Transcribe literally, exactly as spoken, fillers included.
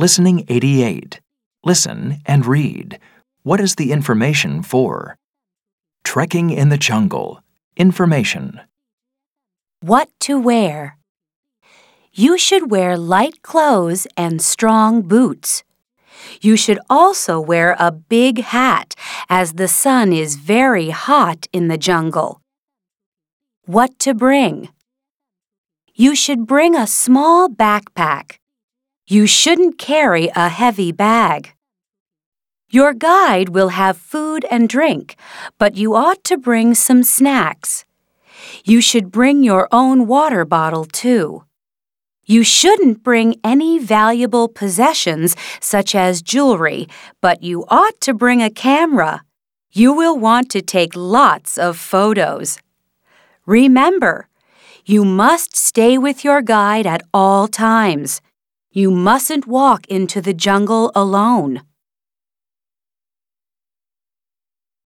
Listening eighty-eight. Listen and read. What is the information for? Trekking in the jungle. Information. What to wear. You should wear light clothes and strong boots. You should also wear a big hat, as the sun is very hot in the jungle. What to bring. You should bring a small backpack. You shouldn't carry a heavy bag. Your guide will have food and drink, but you ought to bring some snacks. You should bring your own water bottle, too. You shouldn't bring any valuable possessions such as jewelry, but you ought to bring a camera. You will want to take lots of photos. Remember, you must stay with your guide at all times. You mustn't walk into the jungle alone.